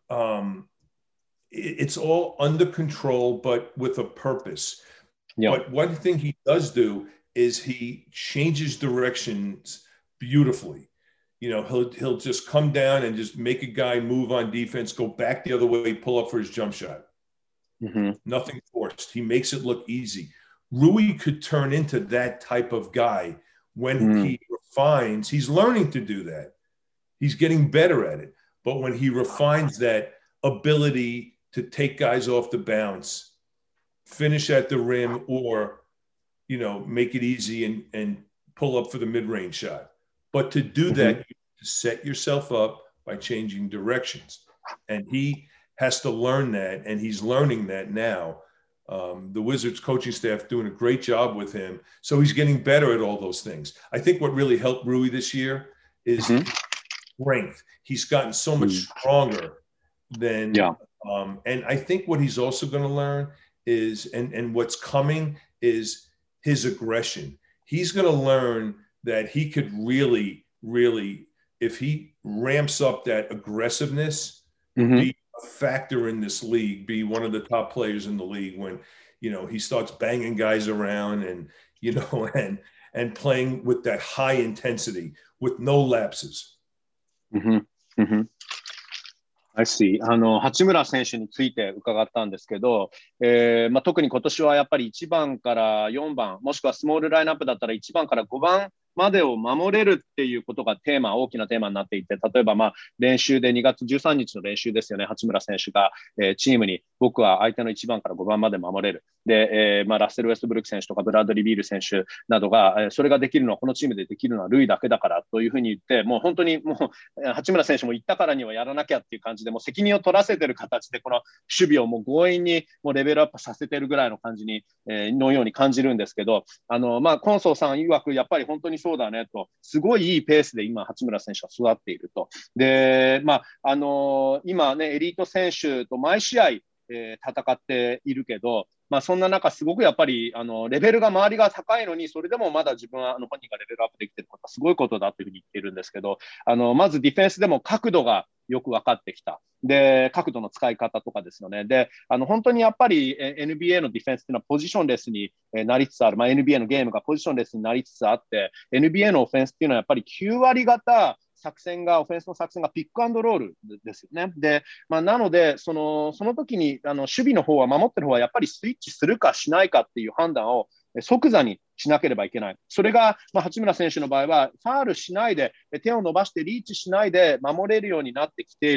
under control, but with a purpose. Yeah. But one thing he does do is he changes directions beautifully. He'll just come down and just make a guy move on defense, go back the other way, pull up for his jump shot. Nothing forced. He makes it look easy. Rui could turn into that type of guy when he refines. He's learning to do that. He's getting better at it. But when he refines that ability to take guys off the bounce, finish at the rim, or, make it easy and pull up for the mid-range shot. But to do that, you have to set yourself up by changing directions. And he has to learn that, and he's learning that now. The Wizards coaching staff doing a great job with him. So he's getting better at all those things. I think what really helped Rui this year is strength. He's gotten so much stronger than and I think what he's also going to learn is, and what's coming is his aggression. He's going to learn that he could really, if he ramps up that aggressiveness, be a factor in this league, be one of the top players in the league when, he starts banging guys around and, and playing with that high intensity with no lapses. I see.八村選手について伺ったんですけど、特に今年はやっぱり1番から4番、もしくはスモールラインナップだったら1番から5番までを守れるっていうことが大きなテーマになっていて、例えば練習で2月13日の練習ですよね、八村選手が、チームに僕は相手の1番から5番まで守れる。で、ラッセル・ウェストブルック選手とかブラッドリー・ビール選手などが、それができるのはこのチームでできるのはルイだけだからというふうに言って、もう本当に八村選手も言ったからにはやらなきゃっていう感じで、もう責任を取らせてる形でこの守備をもう強引にもうレベルアップさせてるぐらいの感じに、のように感じるんですけど、コンソーさん曰くやっぱり本当にそうだねと、すごいいいペースで今八村選手は育っていると。で、今ねエリート選手と毎試合、戦っているけど、そんな中すごくやっぱりレベルが周りが高いのに、それでもまだ自分は本人がレベルアップできていることはすごいことだというふうに言っているんですけど、まずディフェンスでも角度がよく分かってきた。で、角度の使い方とかですよね。で、本当にやっぱり NBA のディフェンスっていうのはポジションレスになりつつある。NBA のゲームがポジションレスになりつつあって、NBA のオフェンスっていうのはやっぱり9割型オフェンスの作戦がピックアンドロールですよね。で、なので、その時に守備の方は、守ってる方はやっぱりスイッチするかしないかっていう判断を即座にしなければいけない。それが、八村選手の場合は、ファールしないで、手を伸ばしてリーチしないで守れるようになってきている。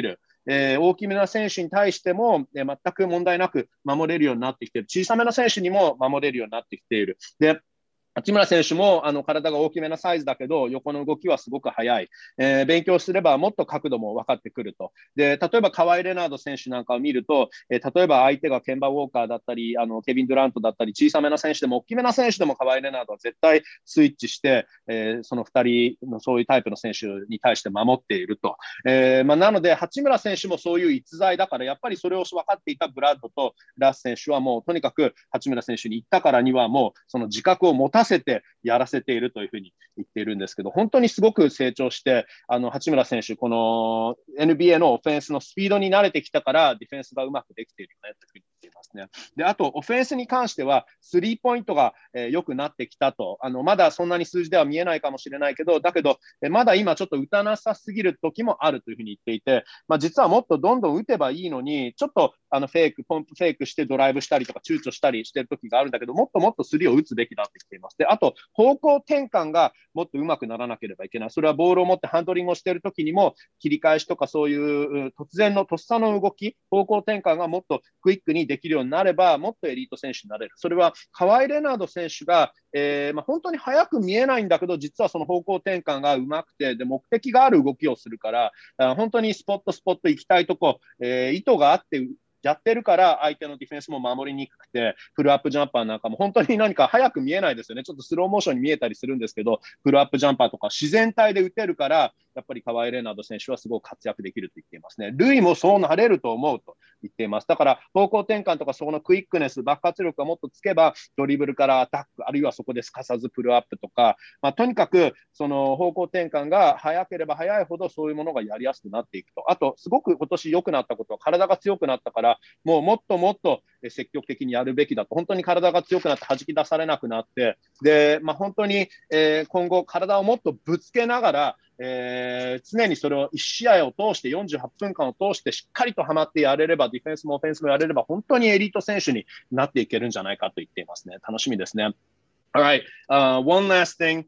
大きめな選手に対しても、全く問題なく守れるようになってきている。小さめな選手にも守れるようになってきている。で、八村選手も体が大きめなサイズだけど横の動きはすごく速い、勉強すればもっと角度も分かってくると。で、例えばカワイ・レナード選手なんかを見ると、例えば相手がケンバ・ウォーカーだったりケビン・ドゥラントだったり小さめな選手でも大きめな選手でもカワイ・レナードは絶対スイッチして、その2人のそういうタイプの選手に対して守っていると。なので八村選手もそういう逸材だからやっぱりそれを分かっていたブラッドとラス選手はもうとにかく八村選手に言ったからにはもうその自覚を持たせてやらせているというふうに言っているんですけど、本当にすごく成長して八村選手この NBA のオフェンスのスピードに慣れてきたからディフェンスがうまくできているよねというふうに言っていますね。で、あとオフェンスに関してはスリーポイントが良くなってきたと。まだそんなに数字では見えないかもしれないけど、だけどまだ今ちょっと打たなさすぎる時もあるというふうに言っていて、実はもっとどんどん打てばいいのにちょっとポンプフェイクしてドライブしたりとか躊躇したりしてる時があるんだけど、もっともっとスリーを打つべきだって言っています。で、あと方向転換がもっと上手くならなければいけない。それはボールを持ってハンドリングをしている時にも切り返しとかそういう突然のとっさの動き、方向転換がもっとクイックにできるようになればもっとエリート選手になれる。それはカワイ・レナード選手が、本当に速く見えないんだけど実はその方向転換が上手くてで目的がある動きをするから本当にスポット行きたいとこ、意図があってやってるから相手のディフェンスも守りにくくて、フルアップジャンパーなんかも本当に何か早く見えないですよね。ちょっとスローモーションに見えたりするんですけど、フルアップジャンパーとか自然体で打てるからやっぱりカワイ・レナード選手はすごく活躍できると言っていますね。ルイもそうなれると思うと言っています。だから方向転換とかそのクイックネス、爆発力がもっとつけばドリブルからアタック、あるいはそこですかさずプルアップとか、とにかくその方向転換が早ければ早いほどそういうものがやりやすくなっていくと。あとすごく今年良くなったことは体が強くなったからもっともっと積極的にやるべきだと。本当に体が強くなって弾き出されなくなってで、本当に、今後体をもっとぶつけながら常にそれを1試合を通して48分間を通してしっかりとはまってやれればディフェンスもオフェンスもやれれば本当にエリート選手になっていけるんじゃないかと言っていますね。楽しみですね。Alright, one last thing.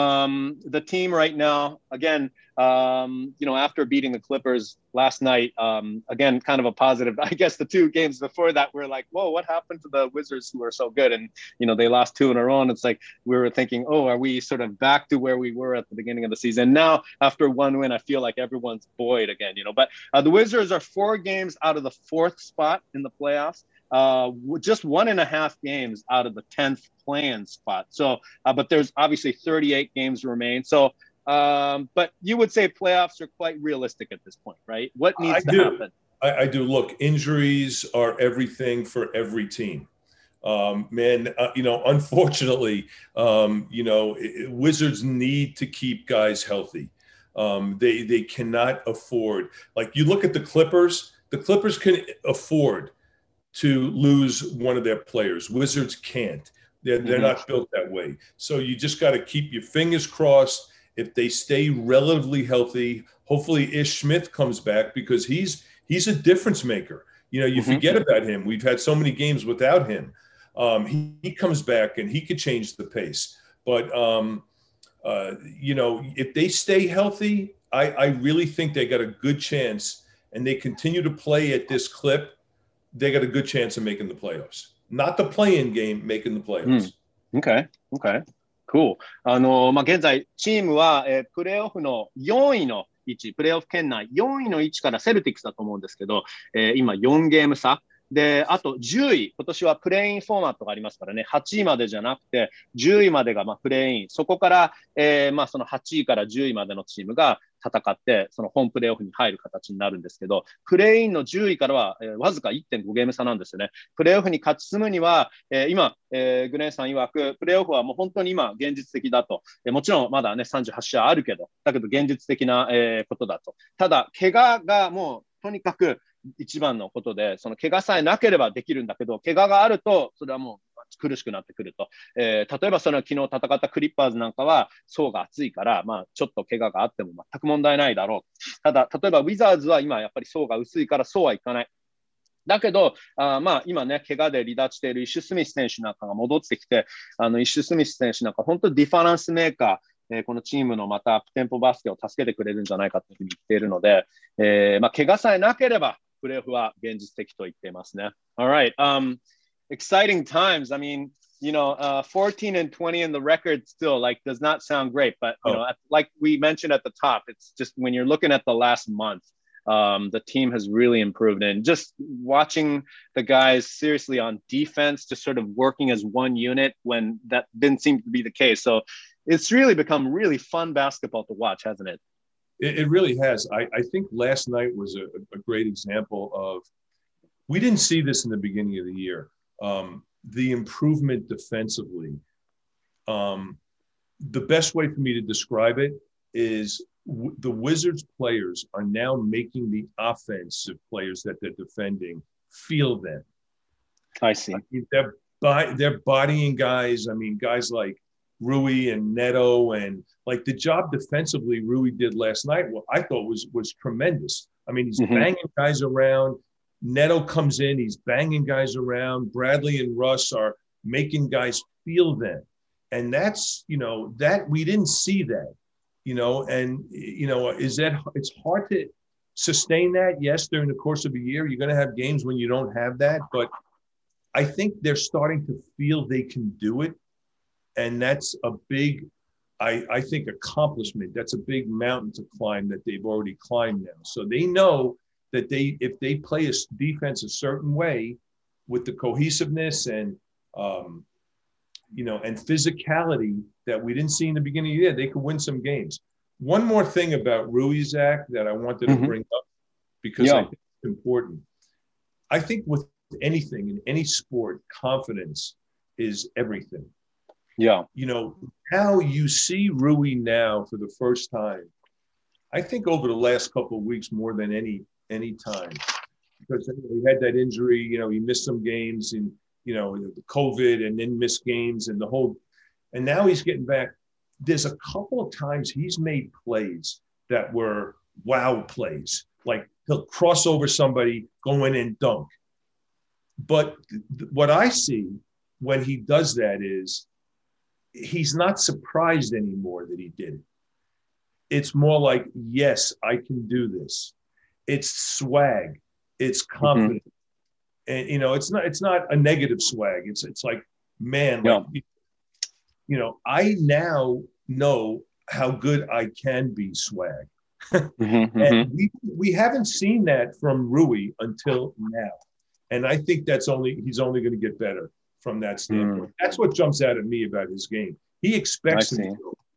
The team right now, again, after beating the Clippers last night, again, kind of a positive. I guess the two games before that were like, whoa, what happened to the Wizards who were so good? And, they lost two in a row. And it's like we were thinking, oh, are we sort of back to where we were at the beginning of the season? Now, after one win, I feel like everyone's buoyed again, But the Wizards are 4 games out of the 4th spot in the playoffs. Just 1.5 games out of the 10th play-in spot. So, but there's obviously 38 games remain. So, but you would say playoffs are quite realistic at this point, right? What needs to happen? I do. Look, injuries are everything for every team. Unfortunately, Wizards need to keep guys healthy. They cannot afford. Like you look at the Clippers can afford to lose one of their players. Wizards can't. They're not built that way. So you just got to keep your fingers crossed. If they stay relatively healthy, hopefully Ish Smith comes back because he's a difference maker. You forget about him. We've had so many games without him. He comes back and he could change the pace. But if they stay healthy, I really think they got a good chance, and they continue to play at this clip. They got a good chance of making the playoffs. Not the play-in game, making the playoffs. Okay. Cool. 現在、チームは、プレーオフの4位の位置、プレーオフ圏内4位の位置からセルティックスだと思うんですけど、今4ゲーム差。で、あと10位、今年はプレーインフォーマットがありますからね、8位までじゃなくて、10位までがプレーイン、そこから、その8位から10位までのチームが戦って、その本プレーオフに入る形になるんですけど、プレーインの10位からは、わずか 1.5 ゲーム差なんですよね。プレーオフに勝ち進むには、今、グレンさん曰く、プレーオフはもう本当に今、現実的だと。もちろんまだね、38試合あるけど、だけど現実的な、ことだと。ただ、怪我がもう、とにかく、一番のことで、その怪我さえなければできるんだけど、怪我があると、それはもう苦しくなってくると。例えばその昨日戦ったクリッパーズなんかは層が厚いから、ちょっと怪我があっても全く問題ないだろう。ただ、例えばウィザーズは今やっぱり層が薄いからそうはいかない。だけど、今ね、怪我で離脱しているイッシュ・スミス選手なんかが戻ってきて、イッシュ・スミス選手なんか本当にディファレンスメーカー、 このチームのまたアップテンポバスケを助けてくれるんじゃないかというふうに言っているので、怪我さえなければ、プレーオフは現実的と言っていますね。Alright, exciting times. I mean, 14 and 20 in the record still does not sound great, but like we mentioned at the top, it's just when you're looking at the last month, the team has really improved, and just watching the guys seriously on defense, just sort of working as one unit when that didn't seem to be the case. So it's really become really fun basketball to watch, hasn't it? It really has. I think last night was a great example of, we didn't see this in the beginning of the year. The improvement defensively. The best way for me to describe it is the Wizards players are now making the offensive players that they're defending feel them. I see. They're bodying guys. I mean, guys like Rui and Neto, and like the job defensively Rui did last night, well, I thought was tremendous. I mean, he's banging guys around. Neto comes in, he's banging guys around. Bradley and Russ are making guys feel them. And that's, that we didn't see that, and, it's hard to sustain that. Yes, during the course of a year, you're going to have games when you don't have that, but I think they're starting to feel they can do it. And that's a big, I think, accomplishment. That's a big mountain to climb that they've already climbed now. So they know that if they play a defense a certain way with the cohesiveness and, and physicality that we didn't see in the beginning of the year, they could win some games. One more thing about Rui, Zach, that I wanted to bring up, because I think it's important. I think with anything in any sport, confidence is everything. Yeah. How you see Rui now for the first time, I think over the last couple of weeks more than any time, because he had that injury, he missed some games and, the COVID, and then missed games and and now he's getting back. There's a couple of times he's made plays that were wow plays, like he'll cross over somebody, go in and dunk. But what I see when he does that is he's not surprised anymore that he did it. It's more like, yes, I can do this. It's swag. It's confidence. And, it's not a negative swag. It's like, man, I now know how good I can be swag. And we haven't seen that from Rui until now. And I think he's only going to get better from that standpoint. That's what jumps out at me about his game. He expects him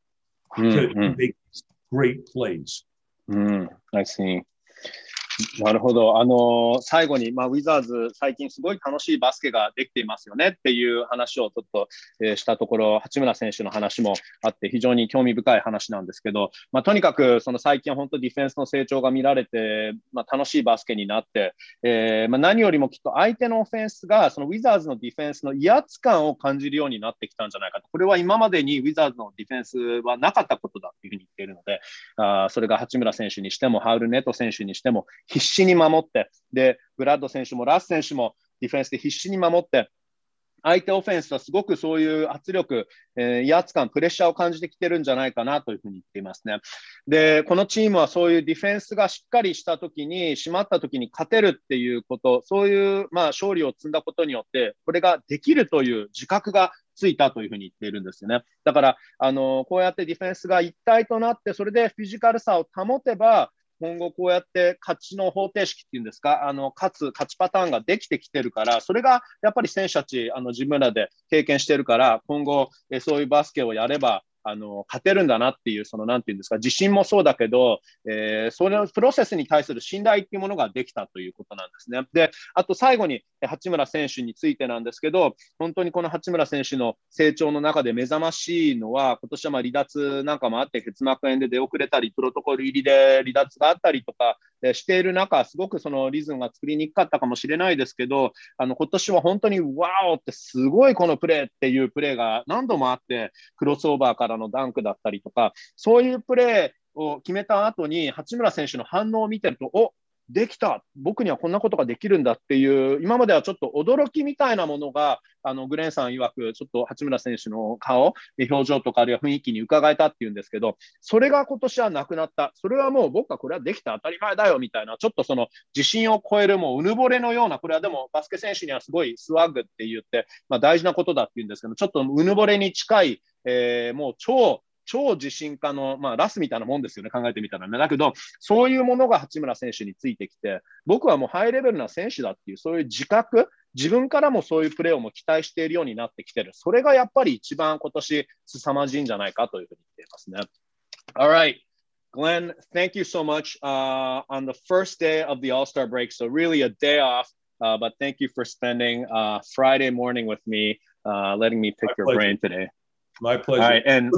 to make great plays. I see. なるほど。最後に、ウィザーズ、最近すごい楽しいバスケができていますよねっていう話をちょっと、したところ、八村選手の話もあって、非常に興味深い話なんですけど、とにかくその最近本当ディフェンスの成長が見られて、楽しいバスケになって、何よりもきっと相手のオフェンスが、そのウィザーズのディフェンスの威圧感を感じるようになってきたんじゃないかと。これは今までにウィザーズのディフェンスはなかったことだというふうに言っているので、それが八村選手にしても、ハウル・ネト選手にしても、必死に守って、で、ブラッド選手もラス選手もディフェンスで必死に守って、相手オフェンスはすごくそういう圧力、威圧感、プレッシャーを感じてきてるんじゃないかなというふうに言っていますね。で、このチームはそういうディフェンスがしっかりしたときに、締まったときに勝てるっていうこと、そういう勝利を積んだことによって、これができるという自覚がついたというふうに言っているんですよね。だから、こうやってディフェンスが一体となって、それでフィジカルさを保てば、今後こうやって勝ちの方程式っていうんですか、勝ちパターンができてきてるから、それがやっぱり選手たち、自分らで経験してるから、今後、そういうバスケをやれば、勝てるんだなっていう、なんていうんですか、自信もそうだけど、そのプロセスに対する信頼っていうものができたということなんですね。で、あと最後に、八村選手についてなんですけど、本当にこの八村選手の成長の中で目覚ましいのは、今年は離脱なんかもあって、結膜炎で出遅れたり、プロトコル入りで離脱があったりとかしている中、すごくそのリズムが作りにくかったかもしれないですけど、今年は本当にワオってすごいこのプレーっていうプレーが何度もあって、クロスオーバーからのダンクだったりとか、そういうプレーを決めた後に八村選手の反応を見てると、 できた、僕にはこんなことができるんだっていう、今まではちょっと驚きみたいなものが、グレンさん曰く、ちょっと八村選手の顔、表情とかあるいは雰囲気に伺えたっていうんですけど、それが今年はなくなった。それはもう僕はこれはできた、当たり前だよみたいな、ちょっとその自信を超えるもううぬぼれのような、これはでもバスケ選手にはすごいスワッグって言って、大事なことだって言うんですけど、ちょっとうぬぼれに近い、もう超自信家の、ラスみたいなもんですよね、考えてみたらね。だけど、そういうものが八村選手についてきて、僕はもうハイレベルな選手だっていう、そういう自覚、自分からもそういうプレーをも期待しているようになってきてる。それがやっぱり一番今年凄まじいんじゃないかというふうに言っていますね。Alright, Glenn, thank you so much on the first day of the All-Star break. So really a day off, but thank you for spending Friday morning with me, letting me pick your brain today.My pleasure. All right, and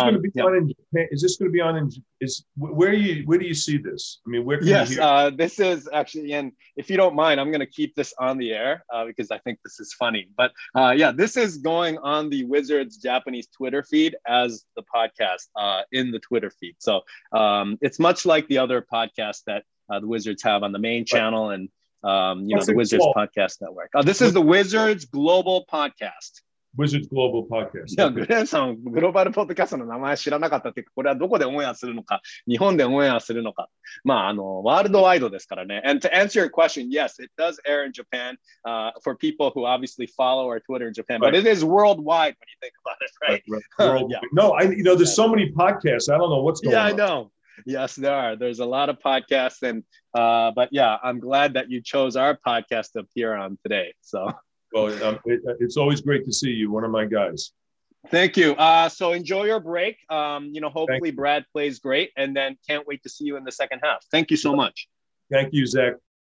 is this going to be on in where do you see this? I mean, where can yes, you hear? This is actually, and if you don't mind, I'm going to keep this on the air because I think this is funny. But this is going on the Wizards Japanese Twitter feed as the podcast in the Twitter feed. So it's much like the other podcasts that the Wizards have on the main channel and the Wizards Podcast Network. This is the Wizards Global Podcast.Wizards Global Podcast. いや、グレンさん、グローバルポッドキャストの名前知らなかったっていうか、これはどこでオンエアするのか、日本でオンエアするのか。ワールドワイドですからね。And to answer your question, yes, it does air in Japan for people who obviously follow our Twitter in Japan, but it is worldwide when you think about it, right? No, there's so many podcasts. I don't know what's going on. Yeah, I know. Yes, there are. There's a lot of podcasts, and but yeah, I'm glad that you chose our podcast to appear on today. So.Well, it's always great to see you, one of my guys. Thank you. So enjoy your break. Hopefully Brad plays great, and then can't wait to see you in the second half. Thank you so much. Thank you, Zach.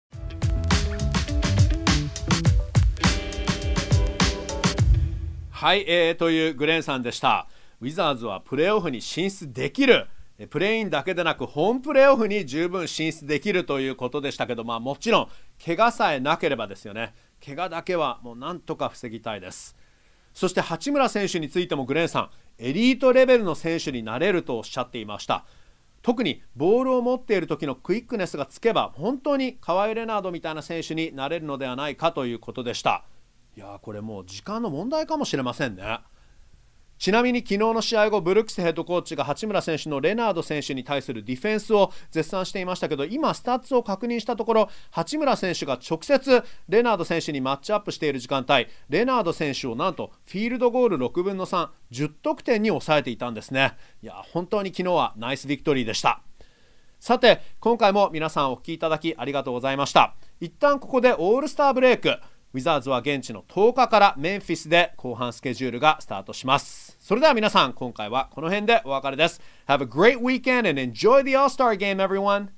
はい、というグレンさんでした。ウィザーズはプレーオフに進出できる。プレーインだけでなくホームプレーオフに十分進出できるということでしたけど、もちろん怪我さえなければですよね。怪我だけはもうなんとか防ぎたいです。そして八村選手についてもグレンさん、エリートレベルの選手になれるとおっしゃっていました。特にボールを持っている時のクイックネスがつけば本当にカワイ・レナードみたいな選手になれるのではないかということでした。いやー、これもう時間の問題かもしれませんね。ちなみに昨日の試合後、ブルックスヘッドコーチが八村選手のレナード選手に対するディフェンスを絶賛していましたけど、今スタッツを確認したところ、八村選手が直接レナード選手にマッチアップしている時間帯、レナード選手をなんとフィールドゴール6分の3、10得点に抑えていたんですね。いや、本当に昨日はナイスビクトリーでした。さて、今回も皆さんお聞きいただきありがとうございました。一旦ここでオールスターブレイク。ウィザーズは現地の10日からメンフィスで後半スケジュールがスタートします。それでは皆さん、今回はこの辺でお別れです。Have a great weekend and enjoy the All-Star Game, everyone!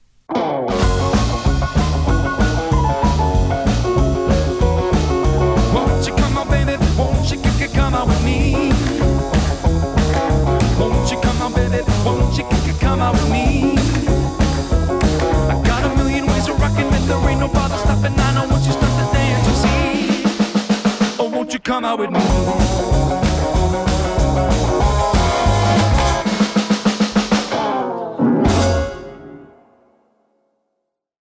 Won't you come on, baby? Won't you come out with me? Won't you come on, baby? Won't you come out with me? I got a million ways of rocking it, there ain't no bother stopping. I know once you start to dance, you see. Oh, won't you come out with me?